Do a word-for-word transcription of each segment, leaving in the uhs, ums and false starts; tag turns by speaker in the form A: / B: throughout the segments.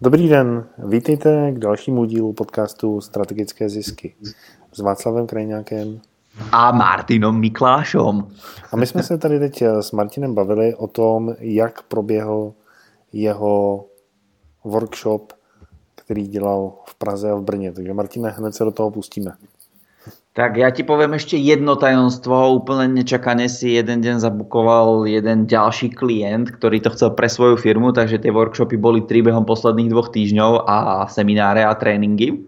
A: Dobrý den, vítejte k dalšímu dílu podcastu Strategické zisky s Václavem Krajňákem
B: a Martinom Miklášom.
A: A my jsme se tady teď s Martinem bavili o tom, jak proběhl jeho workshop, který dělal v Praze a v Brně. Takže Martine, hned se do toho pustíme.
B: Tak ja ti poviem ešte jedno tajomstvo. Úplne nečakane si jeden deň zabukoval jeden ďalší klient, ktorý to chcel pre svoju firmu, takže tie workshopy boli tri behom posledných dvoch týždňov a semináre a tréningy.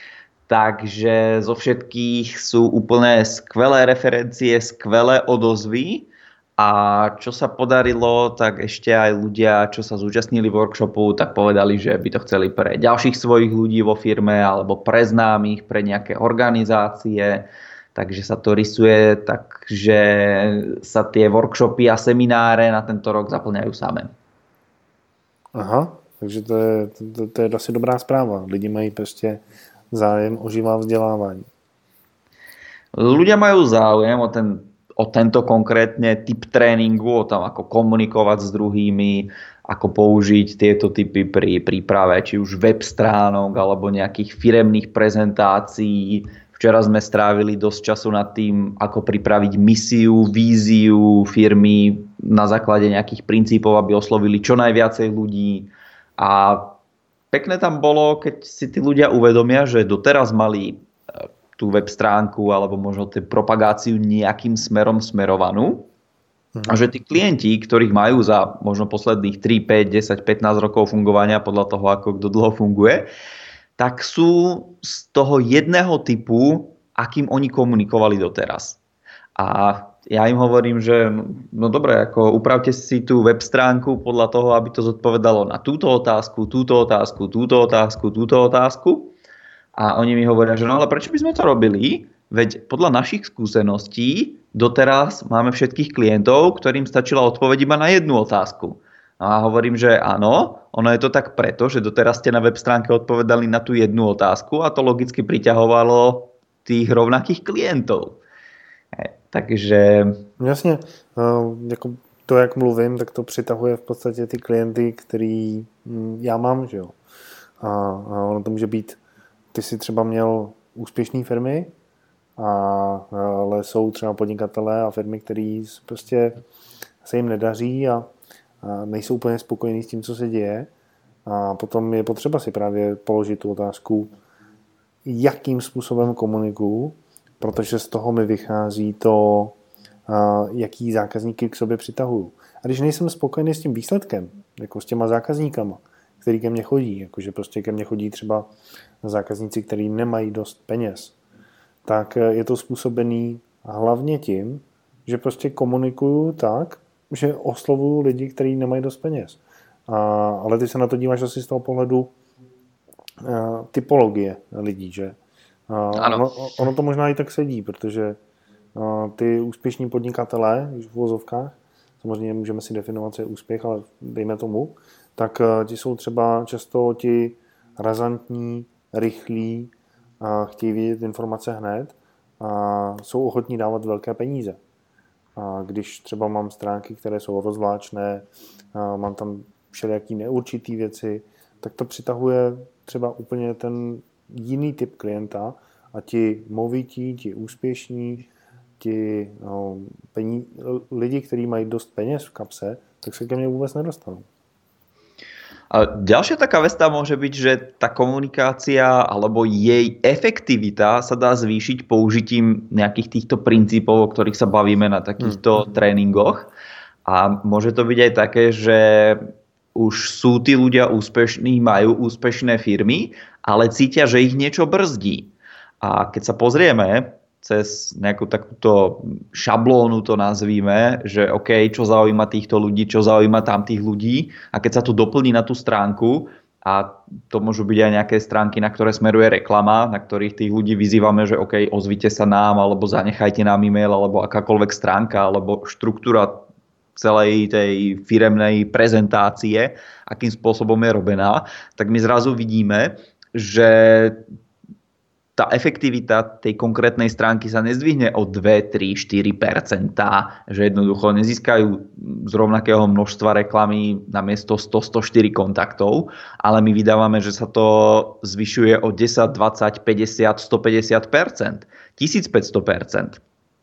B: Takže zo všetkých sú úplne skvelé referencie, skvelé odozvy. A čo sa podarilo, tak ešte aj ľudia, čo sa zúčastnili workshopu, tak povedali, že by to chceli pre ďalších svojich ľudí vo firme alebo pre známych, pre nejaké organizácie. Takže sa to rysuje, takže sa tie workshopy a semináre na tento rok zaplňajú samé.
A: Aha, takže to je, to, to je asi dobrá správa. Lidi mají prostě zájem o živá vzdelávání.
B: Ľudia majú záujem o ten o tento konkrétne typ tréningu, o tom, ako komunikovať s druhými, ako použiť tieto typy pri príprave, či už web stránok, alebo nejakých firemných prezentácií. Včera sme strávili dosť času nad tým, ako pripraviť misiu, víziu firmy na základe nejakých princípov, aby oslovili čo najviacej ľudí. A pekné tam bolo, keď si tí ľudia uvedomia, že doteraz mali tú web stránku alebo možno tú propagáciu nejakým smerom smerovanú. Mhm. A že tí klienti, ktorých majú za možno posledných tri, päť, desať, pätnásť rokov fungovania podľa toho, ako kto dlho funguje, tak sú z toho jedného typu, akým oni komunikovali doteraz. A ja im hovorím, že no dobre, ako upravte si tú web stránku podľa toho, aby to zodpovedalo na túto otázku, túto otázku, túto otázku, túto otázku. A oni mi hovoria, že no ale prečo by sme to robili? Veď podľa našich skúseností doteraz máme všetkých klientov, ktorým stačila odpoveď iba na jednu otázku. A hovorím, že áno, ono je to tak preto, že doteraz ste na web stránke odpovedali na tú jednu otázku a to logicky priťahovalo tých rovnakých klientov. Takže...
A: Jasně, jako to, jak mluvím, tak to přitahuje v podstatě ty klienty, který já mám, že jo. A, a ono to může být, ty si třeba měl úspěšné firmy, a, ale jsou třeba podnikatelé a firmy, které prostě se jim nedaří a, a nejsou úplně spokojení s tím, co se děje. A potom je potřeba si právě položit tu otázku, jakým způsobem komunikuju, protože z toho mi vychází to, jaký zákazníky k sobě přitahuju. A když nejsem spokojený s tím výsledkem, jako s těma zákazníkama, který ke mně chodí, jakože prostě ke mně chodí třeba zákazníci, kteří nemají dost peněz, tak je to způsobený hlavně tím, že prostě komunikuju tak, že oslovuju lidi, kteří nemají dost peněz. A, ale ty se na to díváš asi z toho pohledu a, typologie lidí, že? A, ono, ono to možná i tak sedí, protože a, ty úspěšní podnikatelé, v uvozovkách, samozřejmě můžeme si definovat, co je úspěch, ale dejme tomu, tak a, ti jsou třeba často ti razantní, rychlí, a chtějí vidět informace hned a jsou ochotní dávat velké peníze. A když třeba mám stránky, které jsou rozvláčné, a mám tam všelijaký neurčitý věci, tak to přitahuje třeba úplně ten jiný typ klienta a ti movití, ti úspěšní, ti no, peníze, lidi, kteří mají dost peněz v kapse, tak se ke mně vůbec nedostanou.
B: A ďalšia taká vec tam môže byť, že tá komunikácia alebo jej efektivita sa dá zvýšiť použitím nejakých týchto princípov, o ktorých sa bavíme na takýchto hmm. tréningoch. A môže to byť aj také, že už sú tí ľudia úspešní, majú úspešné firmy, ale cítia, že ich niečo brzdí. A keď sa pozrieme cez nejakú takúto šablónu to nazvíme, že OK, čo zaujíma týchto ľudí, čo zaujíma tamtých ľudí a keď sa to doplní na tú stránku a to môžu byť aj nejaké stránky, na ktoré smeruje reklama, na ktorých tých ľudí vyzývame, že OK, ozvite sa nám alebo zanechajte nám e-mail alebo akákoľvek stránka alebo štruktúra celej tej firemnej prezentácie, akým spôsobom je robená, tak my zrazu vidíme, že tá efektivita tej konkrétnej stránky sa nezdvihne o dva, tri, štyri percentá, že jednoducho nezískajú z rovnakého množstva reklamy na miesto sto, stoštyri kontaktov, ale my vydávame, že sa to zvyšuje o desať, dvadsať, päťdesiat, stopäťdesiat percent, tisícpäťsto percent.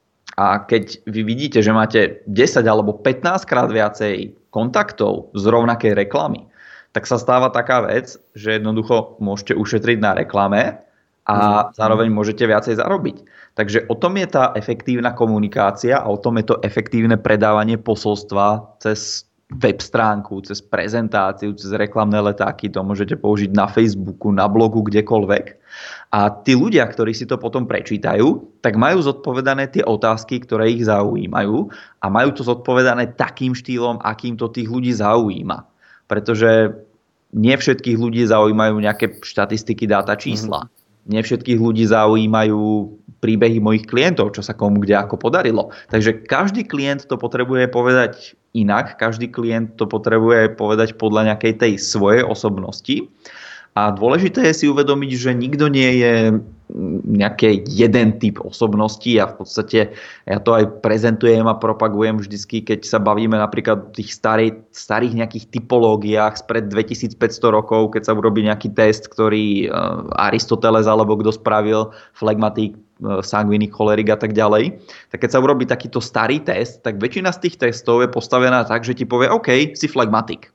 B: A keď vy vidíte, že máte desať alebo pätnásť krát viacej kontaktov z rovnakej reklamy, tak sa stáva taká vec, že jednoducho môžete ušetriť na reklame a zároveň môžete viacej zarobiť. Takže o tom je tá efektívna komunikácia a o tom je to efektívne predávanie posolstva cez web stránku, cez prezentáciu, cez reklamné letáky. To môžete použiť na Facebooku, na blogu, kdekoľvek. A tí ľudia, ktorí si to potom prečítajú, tak majú zodpovedané tie otázky, ktoré ich zaujímajú a majú to zodpovedané takým štýlom, akým to tých ľudí zaujíma. Pretože nie všetkých ľudí zaujímajú nejaké štatistiky, dáta, čísla. Mm-hmm. Nie všetkých ľudí zaujímajú príbehy mojich klientov, čo sa komu kde ako podarilo. Takže každý klient to potrebuje povedať inak, každý klient to potrebuje povedať podľa nejakej tej svojej osobnosti. A dôležité je si uvedomiť, že nikto nie je nejaký jeden typ osobnosti a v podstate ja to aj prezentujem a propagujem vždycky, keď sa bavíme napríklad o tých starých, starých nejakých typológiách spred dvetisícpäťsto rokov, keď sa urobí nejaký test, ktorý Aristoteles alebo kto spravil, flegmatik, sangvinik, cholerik a tak ďalej. Tak keď sa urobí takýto starý test, tak väčšina z tých testov je postavená tak, že ti povie OK, si flegmatik.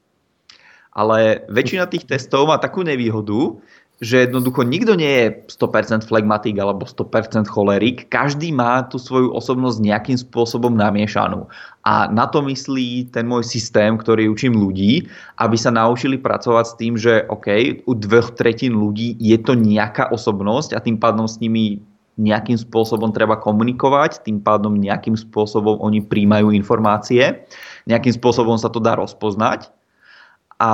B: Ale väčšina tých testov má takú nevýhodu, že jednoducho nikto nie je sto percent flegmatik alebo sto percent cholerik. Každý má tú svoju osobnosť nejakým spôsobom namiešanú. A na to myslí ten môj systém, ktorý učím ľudí, aby sa naučili pracovať s tým, že OK, u dvoch tretín ľudí je to nejaká osobnosť a tým pádom s nimi nejakým spôsobom treba komunikovať, tým pádom nejakým spôsobom oni príjmajú informácie, nejakým spôsobom sa to dá rozpoznať. A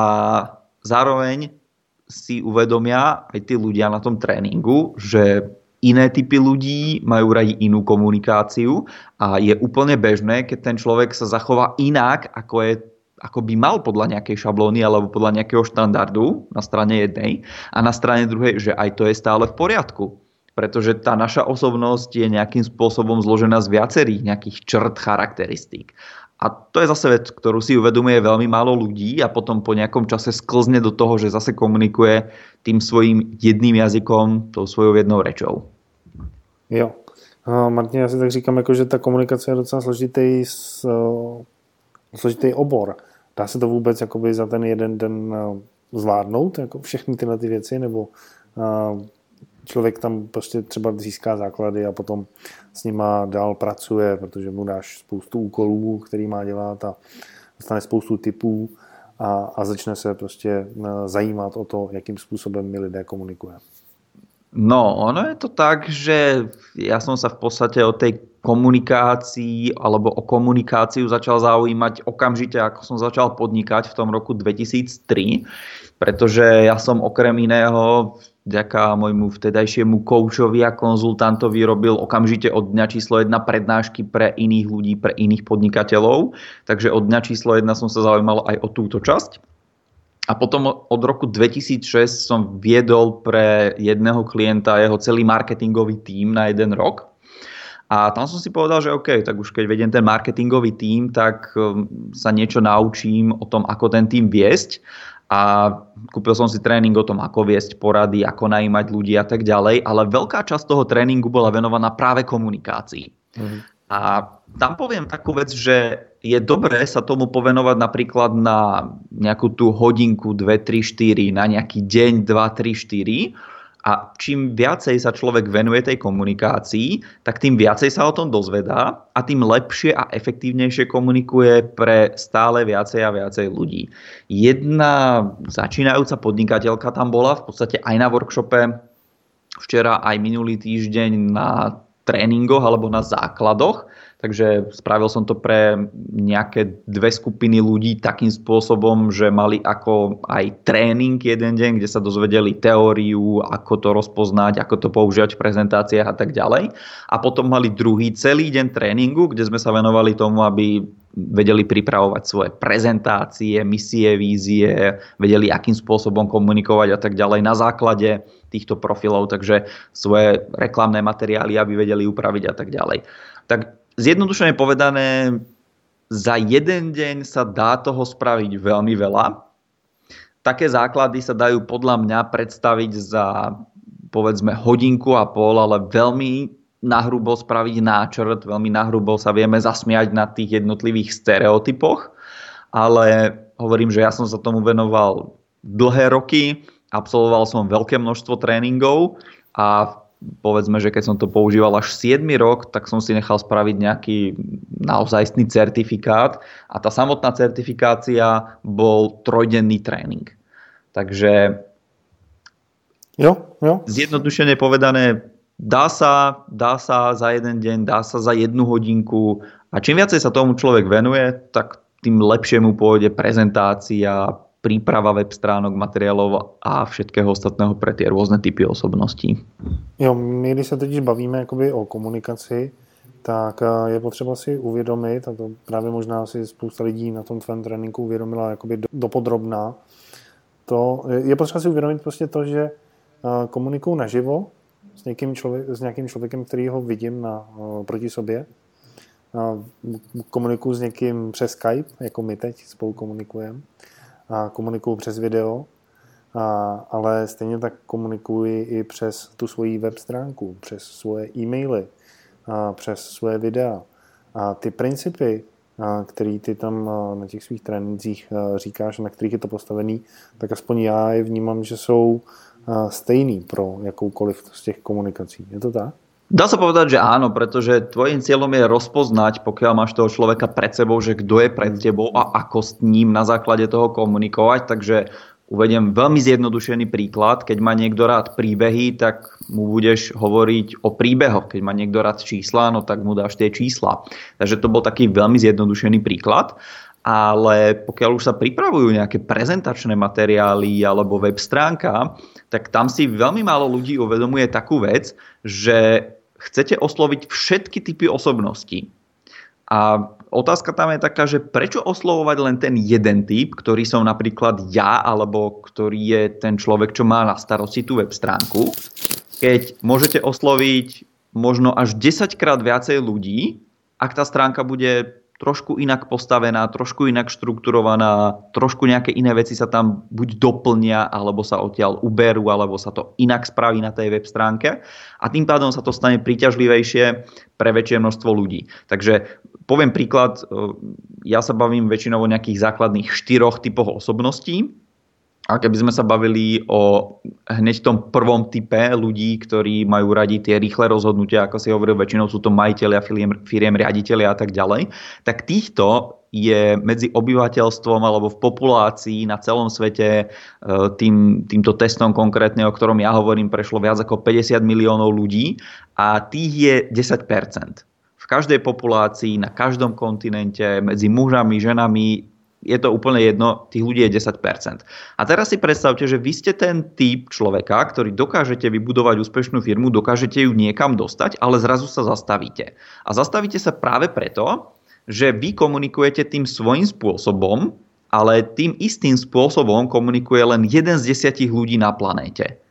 B: zároveň si uvedomia aj tí ľudia na tom tréningu, že iné typy ľudí majú radi inú komunikáciu a je úplne bežné, keď ten človek sa zachová inak, ako, je, ako by mal podľa nejakej šablóny alebo podľa nejakého štandardu na strane jednej a na strane druhej, že aj to je stále v poriadku. Pretože tá naša osobnosť je nejakým spôsobom zložená z viacerých nejakých črt, charakteristík. A to je zase vec, ktorú si uvedomuje veľmi málo ľudí a potom po nejakom čase sklzne do toho, že zase komunikuje tým svojím jedným jazykom, tou svojou jednou rečou.
A: Jo. Martin, já si tak říkám, jako, že ta komunikace je docela složitý, složitý obor. Dá se to vůbec jakoby za ten jeden den zvládnout, jako všechny tyhle ty věci, nebo člověk tam prostě třeba získá základy a potom s nima dál pracuje, protože mu dáš spoustu úkolů, který má dělat a dostane spoustu tipů a, a začne se prostě zajímat o to, jakým způsobem my lidé komunikuje.
B: No, ono je to tak, že ja som sa v podstate o tej komunikácii alebo o komunikáciu začal zaujímať okamžite, ako som začal podnikať v tom roku dvetisíctri, pretože ja som okrem iného vďaka môjmu vtedajšiemu koučovi a konzultantovi robil okamžite od dňa číslo jedna prednášky pre iných ľudí, pre iných podnikateľov. Takže od dňa číslo jedna som sa zaujímal aj o túto časť. A potom od roku dvetisícšesť som viedol pre jedného klienta jeho celý marketingový tím na jeden rok. A tam som si povedal, že OK, tak už keď vediem ten marketingový tím, tak sa niečo naučím o tom, ako ten tím viesť. A kúpil som si tréning o tom, ako viesť porady, ako najímať ľudí a tak ďalej. Ale veľká časť toho tréningu bola venovaná práve komunikácii. Mhm. A tam poviem takú vec, že je dobré sa tomu povenovať napríklad na nejakú tú hodinku, dve, tri, štyri, na nejaký deň, dva, tri, štyri. A čím viacej sa človek venuje tej komunikácii, tak tým viacej sa o tom dozvedá a tým lepšie a efektívnejšie komunikuje pre stále viacej a viacej ľudí. Jedna začínajúca podnikateľka tam bola v podstate aj na workshope, včera aj minulý týždeň na tréningoch alebo na základoch. Takže spravil som to pre nejaké dve skupiny ľudí takým spôsobom, že mali ako aj tréning jeden deň, kde sa dozvedeli teóriu, ako to rozpoznať, ako to používať v prezentáciách a tak ďalej. A potom mali druhý celý deň tréningu, kde sme sa venovali tomu, aby vedeli pripravovať svoje prezentácie, misie, vízie, vedeli, akým spôsobom komunikovať a tak ďalej na základe týchto profilov, takže svoje reklamné materiály, aby vedeli upraviť a tak ďalej. Tak zjednodušene povedané, za jeden deň sa dá toho spraviť veľmi veľa. Také základy sa dajú podľa mňa predstaviť za povedzme hodinku a pol, ale veľmi nahrubo spraviť náčrt, veľmi nahrubo sa vieme zasmiať na tých jednotlivých stereotypoch, ale hovorím, že ja som sa tomu venoval dlhé roky, absolvoval som veľké množstvo tréningov a povedzme, že keď som to používal až siedmy rok, tak som si nechal spraviť nejaký naozajstný certifikát a tá samotná certifikácia bol trojdenný tréning. Takže
A: jo, jo.
B: zjednodušene povedané, dá sa, dá sa za jeden deň, dá sa za jednu hodinku a čím viacej sa tomu človek venuje, tak tým lepšie mu pôjde prezentácia, príprava web stránok, materiálov a všetkého ostatného pre tie rôzne typy osobností.
A: Jo, my když se totiž bavíme jakoby o komunikaci, tak je potřeba si uvědomit, a to právě možná si spousta lidí na tom tvém tréninku uvědomila jakoby dopodrobná, to je potřeba si uvědomit prostě to, že komunikuju naživo s někým, člověk, s nějakým člověkem, který ho vidím na, proti sobě. Komunikuju s někým přes Skype, jako my teď spolu komunikujeme. A komunikuju přes video, a, ale stejně tak komunikuji i přes tu svoji web stránku, přes svoje e-maily, a přes svoje videa. A ty principy, a, který ty tam a, na těch svých trénincích a, říkáš, na kterých je to postavený, tak aspoň já je vnímám, že jsou a, stejný pro jakoukoliv z těch komunikací. Je to tak?
B: Dá sa povedať, že áno, pretože tvojím cieľom je rozpoznať, pokiaľ máš toho človeka pred sebou, že kto je pred tebou a ako s ním na základe toho komunikovať. Takže uvediem veľmi zjednodušený príklad. Keď má niekto rád príbehy, tak mu budeš hovoriť o príbehoch. Keď má niekto rád čísla, no tak mu dáš tie čísla. Takže to bol taký veľmi zjednodušený príklad. Ale pokiaľ už sa pripravujú nejaké prezentačné materiály alebo web stránka, tak tam si veľmi málo ľudí uvedomuje takú vec, že chcete osloviť všetky typy osobností. A otázka tam je taká, že prečo oslovovať len ten jeden typ, ktorý som napríklad ja, alebo ktorý je ten človek, čo má na starosti tú web stránku, keď môžete osloviť možno až desaťkrát viacej ľudí, ak tá stránka bude trošku inak postavená, trošku inak štrukturovaná, trošku nejaké iné veci sa tam buď doplnia, alebo sa odtiaľ uberú, alebo sa to inak spraví na tej web stránke a tým pádom sa to stane príťažlivejšie pre väčšie množstvo ľudí. Takže poviem príklad, ja sa bavím väčšinou o nejakých základných štyroch typoch osobností. A keby sme sa bavili o hneď tom prvom type ľudí, ktorí majú radi tie rýchle rozhodnutia, ako si hovoril, väčšinou sú to majitelia, firiem, firiem riaditelia a tak ďalej, tak týchto je medzi obyvateľstvom alebo v populácii na celom svete tým, týmto testom konkrétne, o ktorom ja hovorím, prešlo viac ako päťdesiat miliónov ľudí a tých je desať percent. V každej populácii, na každom kontinente, medzi mužami, ženami, je to úplne jedno, tých ľudí je desať percent. A teraz si predstavte, že vy ste ten typ človeka, ktorý dokážete vybudovať úspešnú firmu, dokážete ju niekam dostať, ale zrazu sa zastavíte. A zastavíte sa práve preto, že vy komunikujete tým svojím spôsobom, ale tým istým spôsobom komunikuje len jeden z desiatich ľudí na planéte.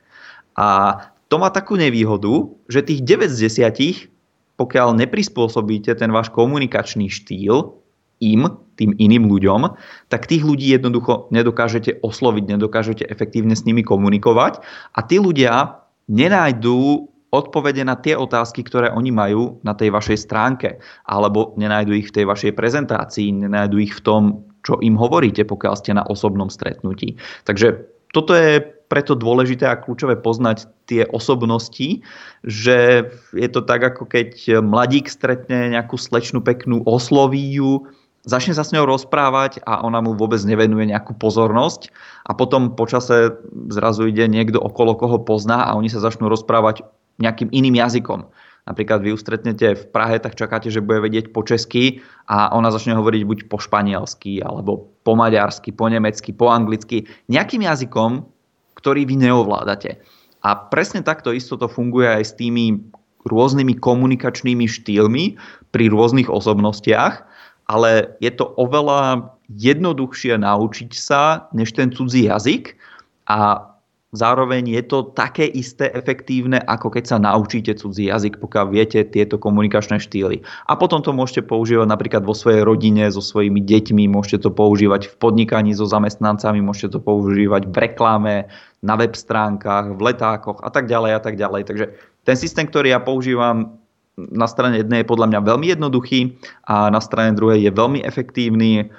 B: A to má takú nevýhodu, že tých deväť z desiatich, pokiaľ neprispôsobíte ten váš komunikačný štýl im, tým iným ľuďom, tak tých ľudí jednoducho nedokážete osloviť, nedokážete efektívne s nimi komunikovať a tí ľudia nenájdú odpovede na tie otázky, ktoré oni majú na tej vašej stránke, alebo nenájdu ich v tej vašej prezentácii, nenájdu ich v tom, čo im hovoríte, pokiaľ ste na osobnom stretnutí. Takže toto je preto dôležité a kľúčové poznať tie osobnosti, že je to tak, ako keď mladík stretne nejakú slečnú peknú, osloví ju, začne sa s ňou rozprávať a ona mu vôbec nevenuje nejakú pozornosť a potom počase zrazu ide niekto okolo, koho pozná a oni sa začnú rozprávať nejakým iným jazykom. Napríklad vy ju stretnete v Prahe, tak čakáte, že bude vedieť po česky a ona začne hovoriť buď po španielsky, alebo po maďarsky, po nemecky, po anglicky, nejakým jazykom, ktorý vy neovládate. A presne takto isto to funguje aj s tými rôznymi komunikačnými štýlmi pri rôznych osobnostiach. ale je to oveľa jednoduchšie naučiť sa než ten cudzí jazyk a zároveň je to také isté efektívne, ako keď sa naučíte cudzí jazyk, pokiaľ viete tieto komunikačné štýly. A potom to môžete používať napríklad vo svojej rodine, so svojimi deťmi, môžete to používať v podnikaní so zamestnancami, môžete to používať v reklame, na web stránkach, v letákoch a tak ďalej a tak ďalej. Takže ten systém, ktorý ja používam, na strane jednej je podľa mňa veľmi jednoduchý a na strane druhej je veľmi efektívny.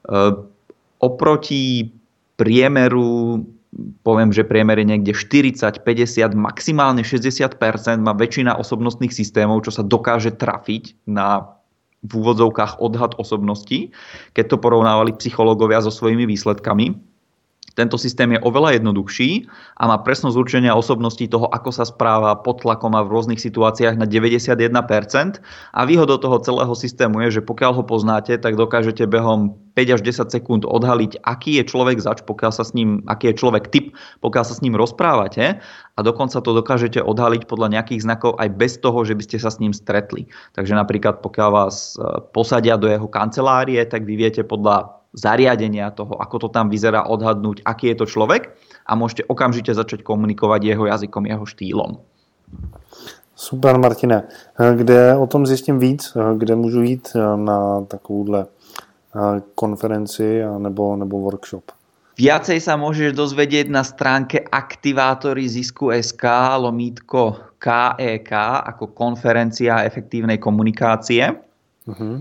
B: Oproti priemeru poviem, že priemer je niekde štyridsať, päťdesiat, maximálne šesťdesiat percent má väčšina osobnostných systémov, čo sa dokáže trafiť na v úvodzovkách odhad osobností, keď to porovnávali psychológovia so svojimi výsledkami. Tento systém je oveľa jednoduchší a má presnosť určenia osobností toho, ako sa správa pod tlakom a v rôznych situáciách na deväťdesiatjeden percent. A výhodou toho celého systému je, že pokiaľ ho poznáte, tak dokážete behom päť až desať sekúnd odhaliť, aký je človek zač, pokiaľ sa s ním, aký je človek typ, pokiaľ sa s ním rozprávate. A dokonca to dokážete odhaliť podľa nejakých znakov aj bez toho, že by ste sa s ním stretli. Takže napríklad pokiaľ vás posadia do jeho kancelárie, tak vy viete podľa zariadenia toho, ako to tam vyzerá, odhadnúť, aký je to človek a môžete okamžite začať komunikovať jeho jazykom, jeho štýlom.
A: Super, Martine. Kde o tom zjistím víc? Kde můžu jít na takovouhle konferenci nebo, nebo workshop?
B: Viacej sa môžeš dozvedieť na stránke aktivátory zisku bodka es ká lomítko ká é ká ako konferencia efektívnej komunikácie. Uh-huh.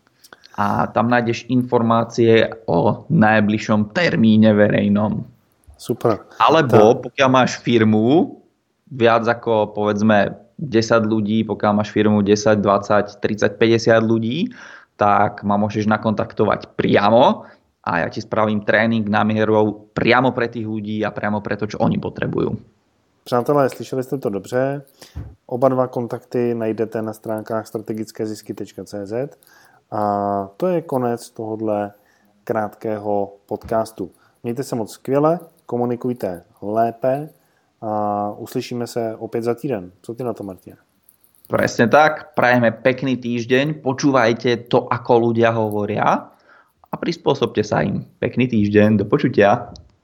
B: A tam nájdeš informácie o najbližšom termíne verejnom.
A: Super.
B: Alebo pokiaľ máš firmu, viac ako povedzme desať ľudí, pokiaľ máš firmu desať, dvadsať, tridsať, päťdesiat ľudí, tak ma môžeš nakontaktovať priamo a ja ti spravím trénink námierou priamo pre tých ľudí a priamo pre to, čo oni potrebujú.
A: Přátelé, slyšeli jste to dobře. Oba dva kontakty najdete na stránkách strategické zisky tečka cé zet. A to je konec tohohle krátkého podcastu. Mějte se moc skvěle, komunikujte lépe a uslyšíme se opět za týden. Co ty na to, Martin?
B: Presne tak, prajeme pekný týždeň, počúvajte to, ako ľudia hovoria a prispôsobte sa im. Pekný týždeň, do počutia.